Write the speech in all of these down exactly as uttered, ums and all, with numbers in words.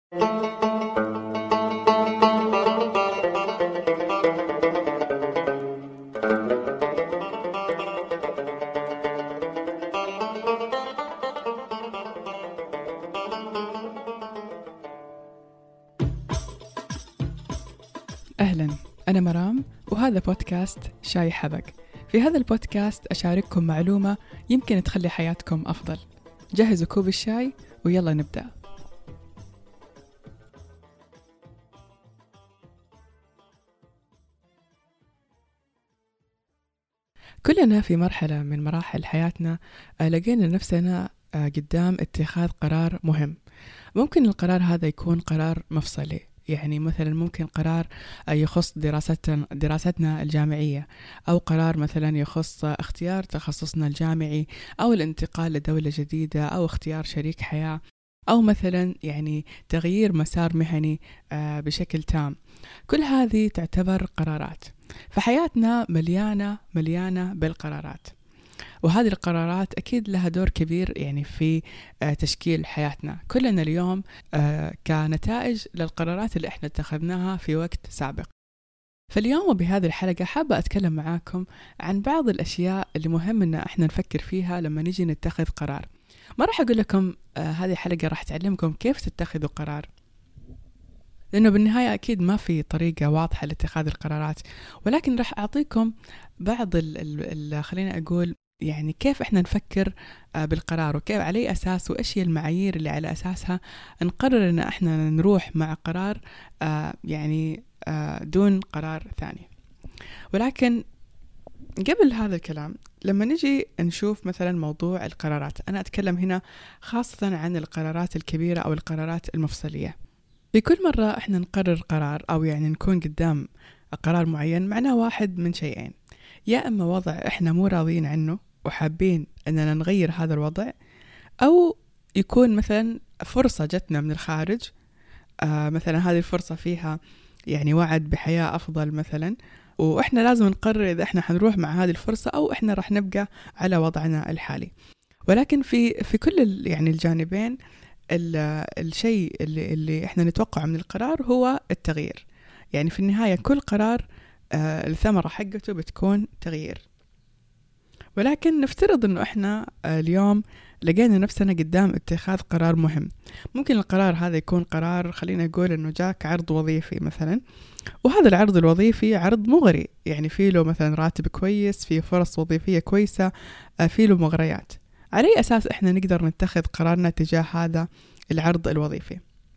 أهلا، أنا مرام وهذا بودكاست شاي حبق. في هذا البودكاست أشارككم معلومة يمكن تخلي حياتكم أفضل. جهزوا كوب الشاي ويلا نبدأ. كلنا في مرحلة من مراحل حياتنا لقينا نفسنا قدام اتخاذ قرار مهم. ممكن القرار هذا يكون قرار مفصلي، يعني مثلا ممكن قرار يخص دراستنا دراستنا الجامعية، أو قرار مثلا يخص اختيار تخصصنا الجامعي، أو الانتقال لدولة جديدة، أو اختيار شريك حياة، أو مثلا يعني تغيير مسار مهني بشكل تام. كل هذه تعتبر قرارات، فحياتنا مليانة مليانة بالقرارات، وهذه القرارات أكيد لها دور كبير يعني في تشكيل حياتنا كلنا اليوم كنتائج للقرارات اللي احنا اتخذناها في وقت سابق. فاليوم بهذه الحلقة حابة أتكلم معاكم عن بعض الأشياء اللي مهم إن احنا نفكر فيها لما نيجي نتخذ قرار. ما راح أقول لكم هذه الحلقة راح تعلمكم كيف تتخذوا قرار، لأنه بالنهاية أكيد ما في طريقة واضحة لاتخاذ القرارات، ولكن راح أعطيكم بعض ال ال خلينا أقول يعني كيف إحنا نفكر بالقرار، وكيف على أساس وإيش هي المعايير اللي على أساسها نقرر إن إحنا نروح مع قرار يعني دون قرار ثاني. ولكن قبل هذا الكلام، لما نجي نشوف مثلا موضوع القرارات، أنا أتكلم هنا خاصة عن القرارات الكبيرة أو القرارات المفصلية. في كل مرة إحنا نقرر قرار أو يعني نكون قدام قرار معين، معناه واحد من شيئين: يا إما وضع إحنا مو راضيين عنه وحابين أننا نغير هذا الوضع، أو يكون مثلا فرصة جتنا من الخارج، آه مثلا هذه الفرصة فيها يعني وعد بحياة أفضل مثلا، وإحنا لازم نقرر إذا إحنا حنروح مع هذه الفرصة أو إحنا رح نبقى على وضعنا الحالي. ولكن في في كل يعني الجانبين الشيء اللي, اللي إحنا نتوقع من القرار هو التغيير. يعني في النهاية كل قرار آه الثمرة حقته بتكون تغيير. ولكن نفترض أنه إحنا آه اليوم لقينا نفسنا قدام اتخاذ قرار مهم. ممكن القرار هذا يكون قرار، خلينا نقول أنه جاك عرض وظيفي مثلا، وهذا العرض الوظيفي عرض مغري، يعني فيه له مثلا راتب كويس، فيه فرص وظيفية كويسة، آه فيه له مغريات. على أي أساس إحنا نقدر نتخذ قرارنا تجاه هذا العرض الوظيفي؟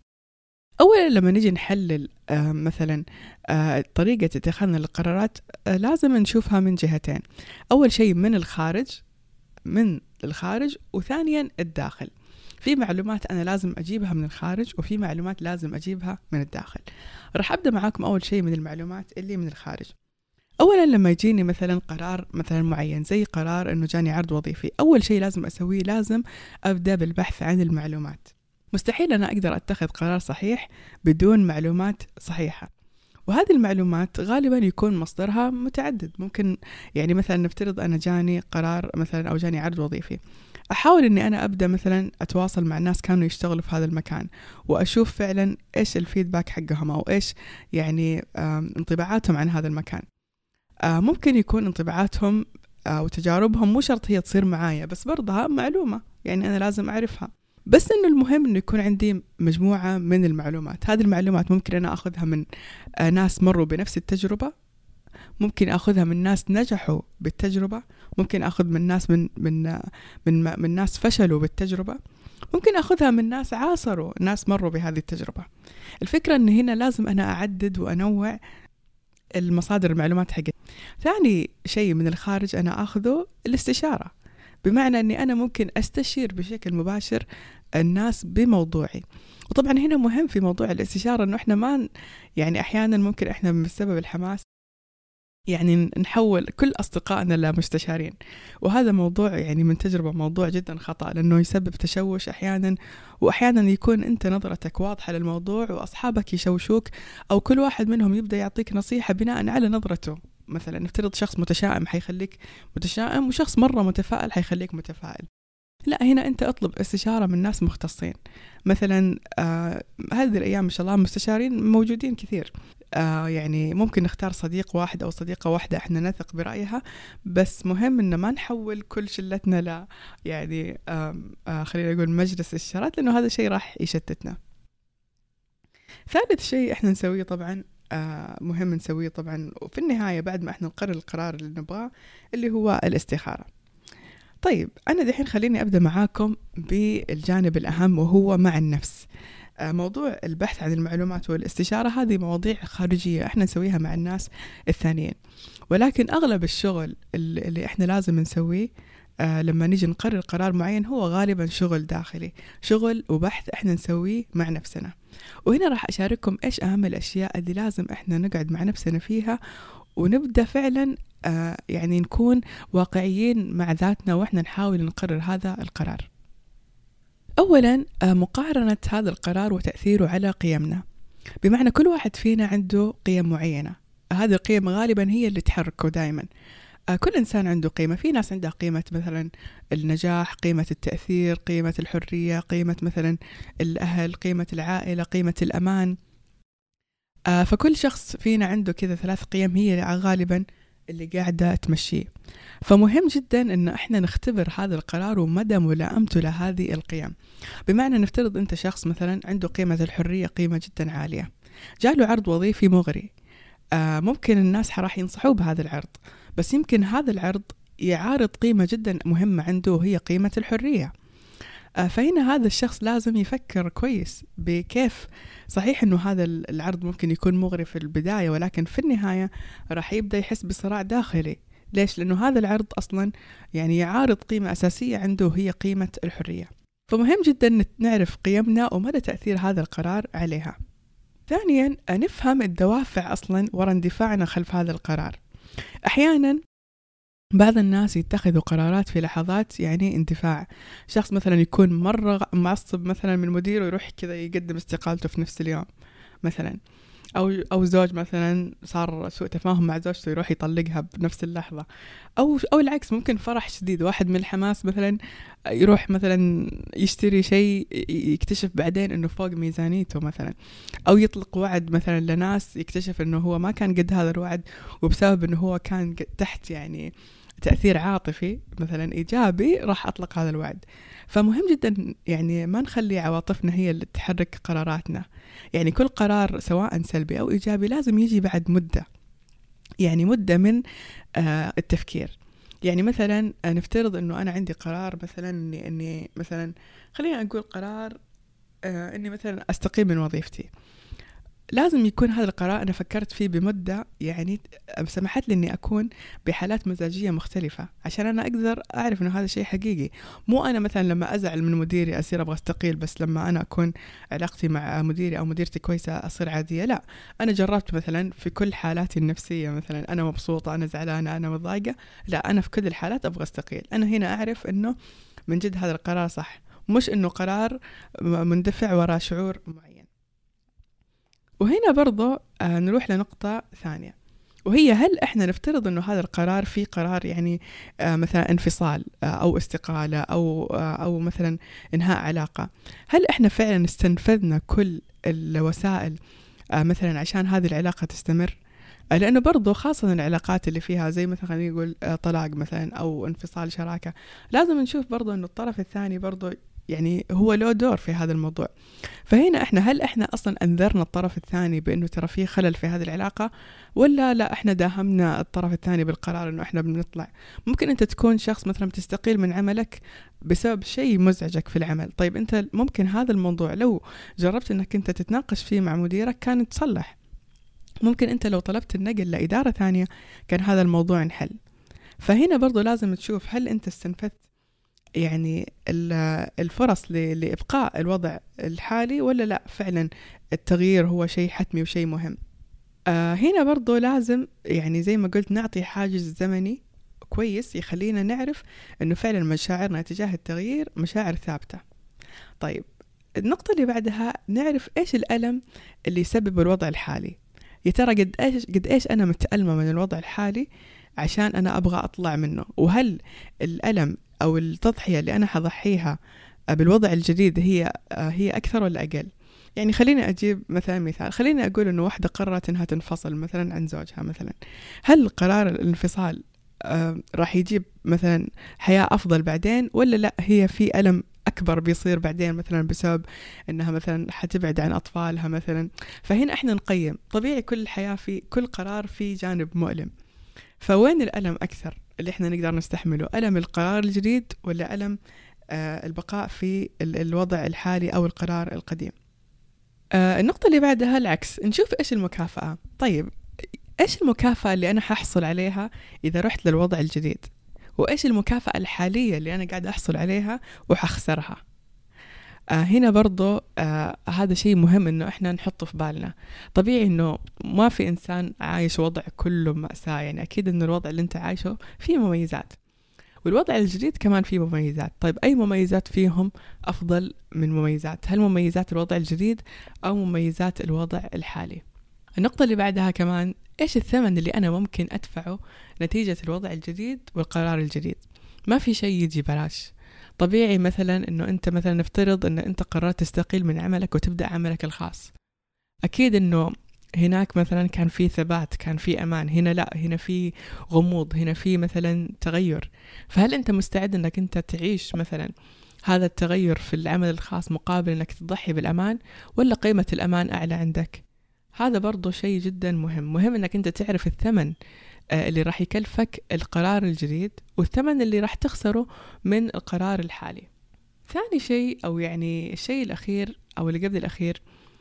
أولا لما نجي نحلل آه مثلا آه طريقة اتخاذنا للقرارات، آه لازم نشوفها من جهتين. أول شيء من الخارج من الخارج وثانيا الداخل. في معلومات أنا لازم أجيبها من الخارج، وفي معلومات لازم أجيبها من الداخل. رح أبدأ معاكم أول شيء من المعلومات اللي من الخارج. أولا لما يجيني مثلا قرار مثلا معين، زي قرار أنه جاني عرض وظيفي، أول شيء لازم أسويه لازم أبدأ بالبحث عن المعلومات. مستحيل أنا أقدر أتخذ قرار صحيح بدون معلومات صحيحة، وهذه المعلومات غالبا يكون مصدرها متعدد. ممكن يعني مثلا نفترض أنا جاني قرار مثلا أو جاني عرض وظيفي، أحاول أني أنا أبدأ مثلا أتواصل مع الناس كانوا يشتغلوا في هذا المكان، وأشوف فعلا إيش الفيدباك حقهم أو إيش يعني انطباعاتهم عن هذا المكان. ممكن يكون انطباعاتهم وتجاربهم مو شرط هي تصير معايا، بس برضها معلومة يعني أنا لازم أعرفها. بس إنه المهم إنه يكون عندي مجموعة من المعلومات. هذه المعلومات ممكن أنا أخذها من ناس مروا بنفس التجربة، ممكن أخذها من ناس نجحوا بالتجربة، ممكن أخذ من ناس من من من, من ناس فشلوا بالتجربة، ممكن أخذها من ناس عاصروا ناس مروا بهذه التجربة. الفكرة إن هنا لازم أنا أعدد وأنوع المصادر المعلومات حقتي. ثاني شيء من الخارج أنا أخذه الاستشارة، بمعنى أني أنا ممكن أستشير بشكل مباشر الناس بموضوعي. وطبعا هنا مهم في موضوع الاستشارة أنه إحنا ما يعني أحيانا ممكن إحنا بسبب الحماس يعني نحول كل أصدقائنا لمستشارين، وهذا موضوع يعني من تجربة موضوع جدا خطأ، لأنه يسبب تشوش أحيانا، وأحيانا يكون أنت نظرتك واضحة للموضوع وأصحابك يشوشوك، أو كل واحد منهم يبدأ يعطيك نصيحة بناء على نظرته. مثلا نفترض شخص متشائم حيخليك متشائم، وشخص مرة متفائل حيخليك متفائل. لا، هنا أنت أطلب استشارة من ناس مختصين. مثلا آه هذه الأيام ما شاء الله مستشارين موجودين كثير. آه يعني ممكن نختار صديق واحد أو صديقة واحدة احنا نثق برأيها، بس مهم إن ما نحول كل شلتنا ل يعني آه آه خلينا نقول مجلس استشارات، لأنه هذا الشيء راح يشتتنا. ثالث شيء احنا نسويه طبعا آه مهم نسويه طبعا وفي النهاية بعد ما احنا نقرر القرار اللي نبغاه، اللي هو الاستخارة. طيب أنا دحين خليني أبدأ معاكم بالجانب الأهم، وهو مع النفس. موضوع البحث عن المعلومات والاستشارة هذه مواضيع خارجية احنا نسويها مع الناس الثانيين، ولكن أغلب الشغل اللي احنا لازم نسويه آه لما نيجي نقرر قرار معين هو غالبا شغل داخلي، شغل وبحث احنا نسويه مع نفسنا. وهنا راح أشارككم إيش أهم الأشياء اللي لازم احنا نقعد مع نفسنا فيها، ونبدأ فعلا آه يعني نكون واقعيين مع ذاتنا وإحنا نحاول نقرر هذا القرار. أولا آه مقارنة هذا القرار وتأثيره على قيمنا، بمعنى كل واحد فينا عنده قيم معينة، هذه القيم غالبا هي اللي تحركه دائما. آه كل إنسان عنده قيمة، في ناس عندها قيمة مثلا النجاح، قيمة التأثير، قيمة الحرية، قيمة مثلا الأهل، قيمة العائلة، قيمة الأمان. آه فكل شخص فينا عنده كذا ثلاث قيم هي غالبا اللي قاعدة تمشيه. فمهم جدا إن إحنا نختبر هذا القرار ومدى ملائمته لهذه القيم. بمعنى نفترض أنت شخص مثلا عنده قيمة الحرية قيمة جدا عالية، جاله عرض وظيفي مغري، آه ممكن الناس راح ينصحوه بهذا العرض، بس يمكن هذا العرض يعارض قيمة جدا مهمة عنده وهي قيمة الحرية. فهنا هذا الشخص لازم يفكر كويس بكيف، صحيح أنه هذا العرض ممكن يكون مغري في البداية، ولكن في النهاية راح يبدأ يحس بصراع داخلي. ليش؟ لأنه هذا العرض أصلا يعني يعارض قيمة أساسية عنده هي قيمة الحرية. فمهم جدا نعرف قيمنا ومدى تأثير هذا القرار عليها. ثانيا نفهم الدوافع أصلا وراء اندفاعنا خلف هذا القرار. أحيانا بعض الناس يتخذوا قرارات في لحظات يعني اندفاع، شخص مثلا يكون مرة معصب مثلا من مديره يروح كذا يقدم استقالته في نفس اليوم مثلا، أو أو زوج مثلا صار سوء تفاهم مع زوجته يروح يطلقها بنفس اللحظة، أو أو العكس، ممكن فرح شديد واحد من الحماس مثلا يروح مثلا يشتري شيء يكتشف بعدين إنه فوق ميزانيته مثلا، أو يطلق وعد مثلا لناس يكتشف إنه هو ما كان قد هذا الوعد، وبسبب إنه هو كان تحت يعني تأثير عاطفي مثلا إيجابي راح أطلق هذا الوعد. فمهم جدا يعني ما نخلي عواطفنا هي اللي تحرك قراراتنا، يعني كل قرار سواء سلبي أو إيجابي لازم يجي بعد مدة، يعني مدة من آه التفكير. يعني مثلا نفترض أنه أنا عندي قرار مثلا أني, أني مثلا خلينا نقول قرار آه أني مثلا أستقيل من وظيفتي، لازم يكون هذا القرار أنا فكرت فيه بمدة يعني سمحت لي أني أكون بحالات مزاجية مختلفة عشان أنا أقدر أعرف أنه هذا شيء حقيقي. مو أنا مثلا لما أزعل من مديري أصير أبغى أستقيل، بس لما أنا أكون علاقتي مع مديري أو مديرتي كويسة أصير عادية. لا، أنا جربت مثلا في كل حالاتي النفسية، مثلا أنا مبسوطة، أنا زعلانة، أنا مضايقة، لا أنا في كل الحالات أبغى أستقيل. أنا هنا أعرف أنه من جد هذا القرار صح، مش أنه قرار مندفع وراء شعور معين. وهنا برضو آه نروح لنقطة ثانية، وهي هل إحنا نفترض أنه هذا القرار فيه قرار يعني آه مثلا انفصال آه أو استقالة أو آه أو مثلا إنهاء علاقة، هل إحنا فعلا استنفذنا كل الوسائل آه مثلا عشان هذه العلاقة تستمر؟ آه لأنه برضو خاصة العلاقات اللي فيها زي مثلا خلينا نقول آه طلاق مثلا أو انفصال شراكة، لازم نشوف برضو أنه الطرف الثاني برضو يعني هو له دور في هذا الموضوع. فهنا احنا هل احنا اصلا انذرنا الطرف الثاني بانه ترى في خلل في هذه العلاقة، ولا لا احنا داهمنا الطرف الثاني بالقرار انه احنا بنطلع؟ ممكن انت تكون شخص مثلا تستقيل من عملك بسبب شيء مزعجك في العمل، طيب انت ممكن هذا الموضوع لو جربت انك انت تتناقش فيه مع مديرك كان تصلح، ممكن انت لو طلبت النقل لإدارة ثانية كان هذا الموضوع انحل. فهنا برضو لازم تشوف هل انت استنفذت يعني الفرص لإبقاء الوضع الحالي ولا لا، فعلا التغيير هو شيء حتمي وشيء مهم. آه هنا برضو لازم يعني زي ما قلت نعطي حاجز زمني كويس يخلينا نعرف أنه فعلا مشاعرنا تجاه التغيير مشاعر ثابتة. طيب النقطة اللي بعدها نعرف إيش الألم اللي يسبب الوضع الحالي، يا ترى قد إيش قد إيش أنا متألمة من الوضع الحالي عشان أنا أبغى أطلع منه، وهل الألم أو التضحية اللي أنا حضحيها بالوضع الجديد هي هي أكثر ولا أقل؟ يعني خليني أجيب مثلا مثال، خليني أقول إنه واحدة قررت إنها تنفصل مثلا عن زوجها مثلا، هل قرار الانفصال آه راح يجيب مثلا حياة أفضل بعدين، ولا لا هي في ألم أكبر بيصير بعدين مثلا بسبب إنها مثلا حتبعد عن أطفالها مثلا؟ فهنا إحنا نقيم، طبيعي كل الحياة في كل قرار في جانب مؤلم، فوين الألم أكثر اللي إحنا نقدر نستحمله؟ ألم القرار الجديد ولا ألم آه البقاء في الوضع الحالي أو القرار القديم؟ آه النقطة اللي بعدها العكس، نشوف إيش المكافأة. طيب إيش المكافأة اللي أنا ححصل عليها إذا رحت للوضع الجديد، وإيش المكافأة الحالية اللي أنا قاعد أحصل عليها وحخسرها؟ آه هنا برضو آه هذا شيء مهم إنه إحنا نحطه في بالنا. طبيعي إنه ما في إنسان عايش وضع كله مأساة، يعني أكيد إنه الوضع اللي أنت عايشه فيه مميزات، والوضع الجديد كمان فيه مميزات. طيب أي مميزات فيهم أفضل من مميزات؟ هل مميزات الوضع الجديد أو مميزات الوضع الحالي؟ النقطة اللي بعدها كمان، إيش الثمن اللي أنا ممكن أدفعه نتيجة الوضع الجديد والقرار الجديد؟ ما في شيء يجي بلاش. طبيعي مثلا إنه أنت مثلا نفترض إنه أنت قررت تستقيل من عملك وتبدأ عملك الخاص، أكيد إنه هناك مثلا كان في ثبات، كان في أمان، هنا لا، هنا في غموض، هنا في مثلا تغير. فهل أنت مستعد إنك أنت تعيش مثلا هذا التغير في العمل الخاص مقابل إنك تضحي بالأمان، ولا قيمة الأمان أعلى عندك؟ هذا برضو شيء جدا مهم. مهم إنك أنت تعرف الثمن اللي راح يكلفك القرار الجديد والثمن اللي راح تخسره من القرار الحالي. ثاني شيء، أو يعني الشيء الأخير أو اللي قبل الأخير،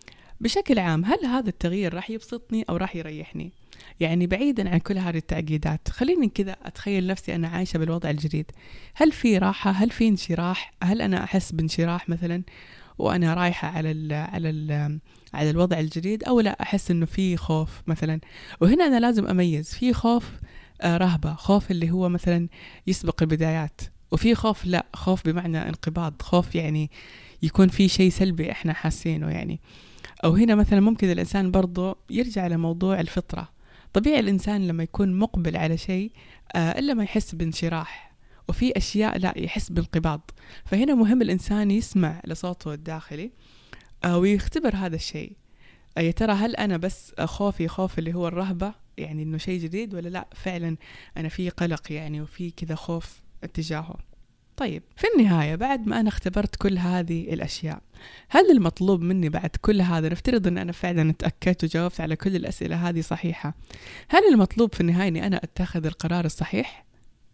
بشكل عام هل هذا التغيير راح يبسطني أو راح يريحني؟ يعني بعيدا عن كل هذه التعقيدات، خليني كذا أتخيل نفسي أنا عايشة بالوضع الجديد. هل في راحة؟ هل في انشراح؟ هل أنا أحس بانشراح مثلا وأنا رايحة على ال على ال على الوضع الجديد، أو لا أحس إنه في خوف مثلا؟ وهنا أنا لازم أميز، في خوف آه رهبة، خوف اللي هو مثلا يسبق البدايات، وفي خوف لا، خوف بمعنى انقباض، خوف يعني يكون في شيء سلبي إحنا حاسينه يعني. أو هنا مثلا ممكن الإنسان برضو يرجع لموضوع الفطرة. طبيعي الإنسان لما يكون مقبل على شيء آه إلا ما يحس بانشراح، وفي أشياء لا يحس بانقباض. فهنا مهم الإنسان يسمع لصوته الداخلي آه ويختبر هذا الشيء. آه يا ترى هل أنا بس خوفي خوف اللي هو الرهبة، يعني إنه شيء جديد، ولا لا فعلا أنا في قلق يعني وفي كذا خوف اتجاهه؟ طيب في النهاية، بعد ما أنا اختبرت كل هذه الأشياء، هل المطلوب مني بعد كل هذا، نفترض أن أنا فعلا اتأكدت وجاوبت على كل الأسئلة هذه صحيحة، هل المطلوب في النهاية أني أنا أتخذ القرار الصحيح؟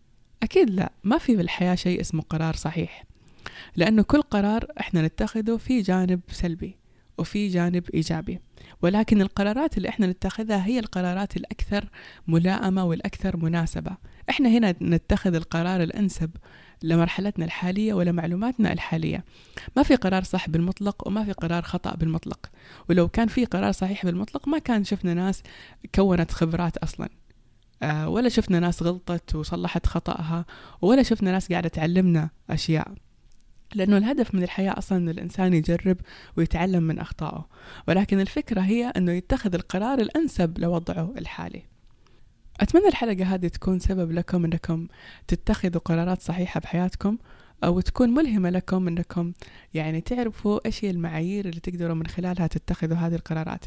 أكيد لا، ما في بالحياة شيء اسمه قرار صحيح، لأنه كل قرار إحنا نتخذه في جانب سلبي وفي جانب إيجابي، ولكن القرارات اللي إحنا نتخذها هي القرارات الأكثر ملائمة والأكثر مناسبة. إحنا هنا نتخذ القرار الأنسب لمرحلتنا الحالية ولمعلوماتنا الحالية. ما في قرار صح بالمطلق وما في قرار خطأ بالمطلق، ولو كان في قرار صحيح بالمطلق ما كان شفنا ناس كونت خبرات أصلا، آه ولا شفنا ناس غلطت وصلحت خطأها، ولا شفنا ناس قاعدة تعلمنا أشياء. لأنه الهدف من الحياة أصلا أن الإنسان يجرب ويتعلم من أخطائه، ولكن الفكرة هي أنه يتخذ القرار الأنسب لوضعه الحالي. أتمنى الحلقة هذه تكون سبب لكم أنكم تتخذوا قرارات صحيحة بحياتكم، أو تكون ملهمة لكم أنكم يعني تعرفوا إيش هي المعايير اللي تقدروا من خلالها تتخذوا هذه القرارات.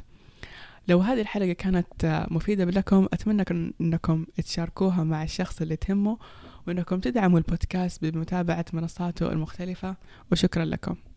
لو هذه الحلقة كانت مفيدة لكم، أتمنى أنكم تشاركوها مع الشخص اللي تهمه، وأنكم تدعموا البودكاست بمتابعة منصاته المختلفة، وشكرا لكم.